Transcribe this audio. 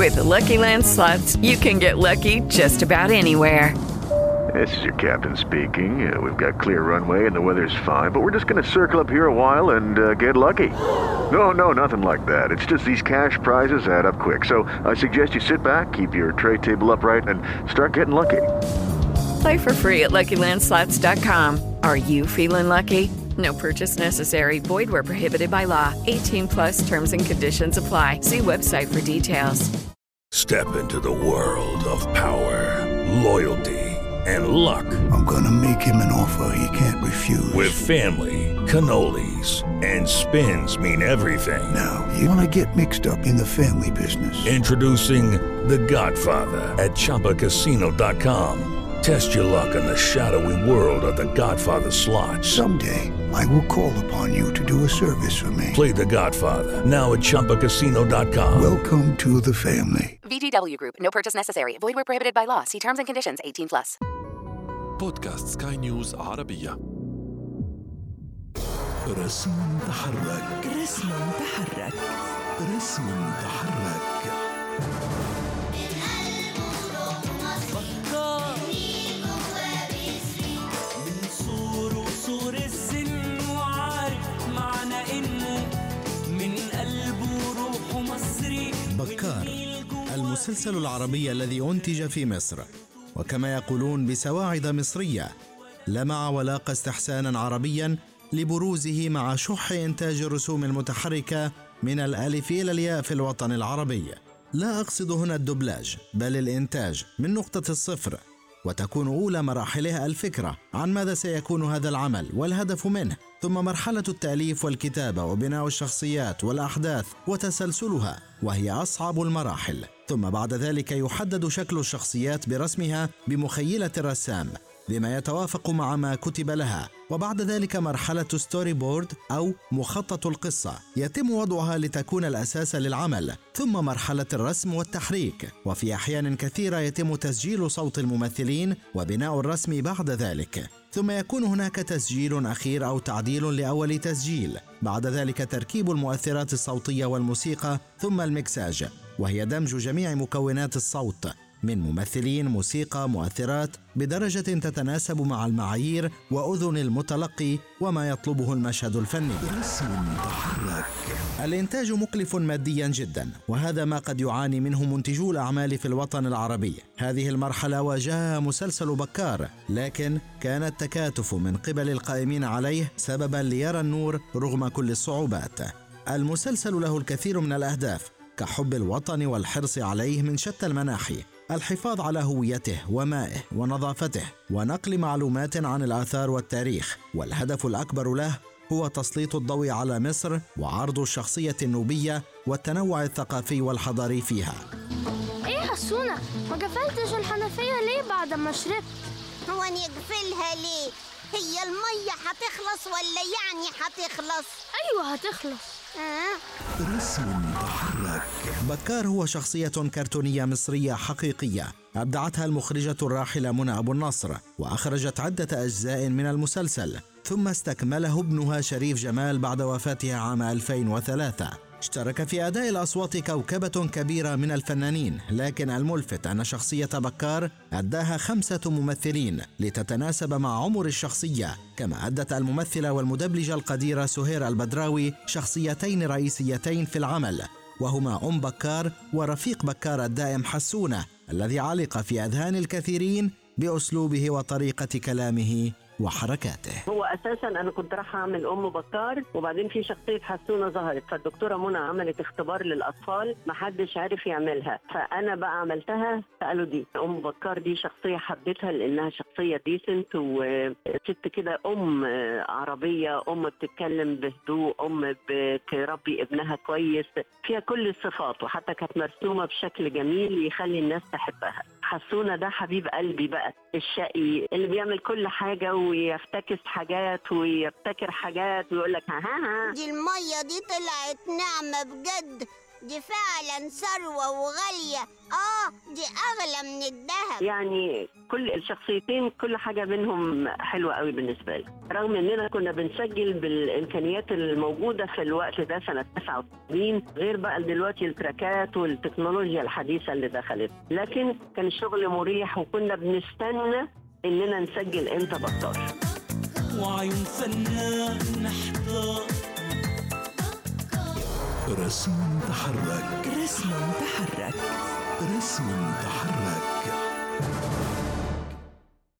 With the Lucky Land Slots, you can get lucky just about anywhere. This is your captain speaking. We've got clear runway and the weather's fine, but we're just going to circle up here a while and get lucky. No, nothing like that. It's just these cash prizes add up quick. So I suggest you sit back, keep your tray table upright, and start getting lucky. Play for free at LuckyLandSlots.com. Are you feeling lucky? No purchase necessary. Void where prohibited by law. 18+ terms and conditions apply. See website for details. Step into the world of power, loyalty, and luck. I'm gonna make him an offer he can't refuse. With family, cannolis, and spins mean everything. Now, you wanna get mixed up in the family business. Introducing The Godfather at ChumbaCasino.com. Test your luck in the shadowy world of The Godfather slot. Someday, I will call upon you to do a service for me. Play The Godfather now at ChumbaCasino.com. Welcome to the family. VGW Group. No purchase necessary. Void where prohibited by law. See terms and conditions. 18+. بودكاست سكاي نيوز عربية. رسم تحرك. رسم تحرك. رسم تحرك. من صور السن وعارف معنى إنه من قلبه روح مصري. بكار، المسلسل العربي الذي أنتج في مصر، وكما يقولون بسواعد مصرية، لمع ولاقى استحسانا عربيا لبروزه مع شح إنتاج الرسوم المتحركة من الألف إلى الياء في الوطن العربي. لا أقصد هنا الدبلاج، بل الإنتاج من نقطة الصفر، وتكون أولى مراحلها الفكرة عن ماذا سيكون هذا العمل والهدف منه، ثم مرحلة التأليف والكتابة وبناء الشخصيات والأحداث وتسلسلها، وهي أصعب المراحل، ثم بعد ذلك يحدد شكل الشخصيات برسمها بمخيلة الرسام بما يتوافق مع ما كتب لها، وبعد ذلك مرحلة ستوري بورد أو مخطط القصة يتم وضعها لتكون الأساس للعمل، ثم مرحلة الرسم والتحريك، وفي أحيان كثيرة يتم تسجيل صوت الممثلين وبناء الرسم بعد ذلك، ثم يكون هناك تسجيل أخير أو تعديل لأول تسجيل، بعد ذلك تركيب المؤثرات الصوتية والموسيقى، ثم المكساج، وهي دمج جميع مكونات الصوت من ممثلين، موسيقى، مؤثرات بدرجة تتناسب مع المعايير وأذن المتلقي وما يطلبه المشهد الفني. الإنتاج مكلف ماديا جدا، وهذا ما قد يعاني منه منتجو الأعمال في الوطن العربي. هذه المرحلة واجهها مسلسل بكار، لكن كان التكاتف من قبل القائمين عليه سببا ليرى النور رغم كل الصعوبات. المسلسل له الكثير من الأهداف كحب الوطن والحرص عليه من شتى المناحي، الحفاظ على هويته ومائه ونظافته، ونقل معلومات عن الآثار والتاريخ، والهدف الأكبر له هو تسليط الضوء على مصر وعرض الشخصية النوبية والتنوع الثقافي والحضاري فيها. ايه حسونة، ما قفلتش الحنفية ليه بعد ما شربت؟ هو نقفلها ليه؟ هي المية هتخلص ولا يعني هتخلص؟ ايوه هتخلص. رسم تحرك. بكار هو شخصية كرتونية مصرية حقيقية أبدعتها المخرجة الراحلة منى أبو النصر، وأخرجت عدة أجزاء من المسلسل، ثم استكمله ابنها شريف جمال بعد وفاتها عام 2003. اشترك في أداء الأصوات كوكبة كبيرة من الفنانين، لكن الملفت أن شخصية بكار أداها 5 ممثلين لتتناسب مع عمر الشخصية، كما أدت الممثلة والمدبلجة القديرة سهير البدراوي شخصيتين رئيسيتين في العمل، وهما أم بكار ورفيق بكار الدائم حسونة، الذي علق في أذهان الكثيرين بأسلوبه وطريقة كلامه وحركاته. هو اساسا انا كنت راح اعمل ام بكار، وبعدين في شخصيه حسونه ظهرت، فالدكتوره منى عملت اختبار للاطفال ما حدش عارف يعملها، فانا بقى عملتها. فقالوا دي ام بكار، دي شخصيه حبيتها لانها شخصيه ديسنت وست كده، ام عربيه، ام بتتكلم بهدوء، ام بتربي ابنها كويس، فيها كل الصفات، وحتى كانت مرسومه بشكل جميل يخلي الناس تحبها. حسونه ده حبيب قلبي بقى، الشقي اللي بيعمل كل حاجه ويفتكس حاجات ويبتكر حاجات ويقول لك ها. دي المية دي طلعت نعمة بجد، دي فعلا ثروة وغالية. دي أغلى من الذهب. يعني كل الشخصيتين كل حاجة منهم حلوة قوي بالنسبة لي، رغم اننا كنا بنسجل بالامكانيات الموجودة في الوقت ده سنة 89، غير بقى دلوقتي التراكات والتكنولوجيا الحديثة اللي دخلت، لكن كان الشغل مريح وكنا بنستنى اننا نسجل امتى بطار. وعيون فنان نحضر رسم تحرك، رسم تحرك، رسم تحرك.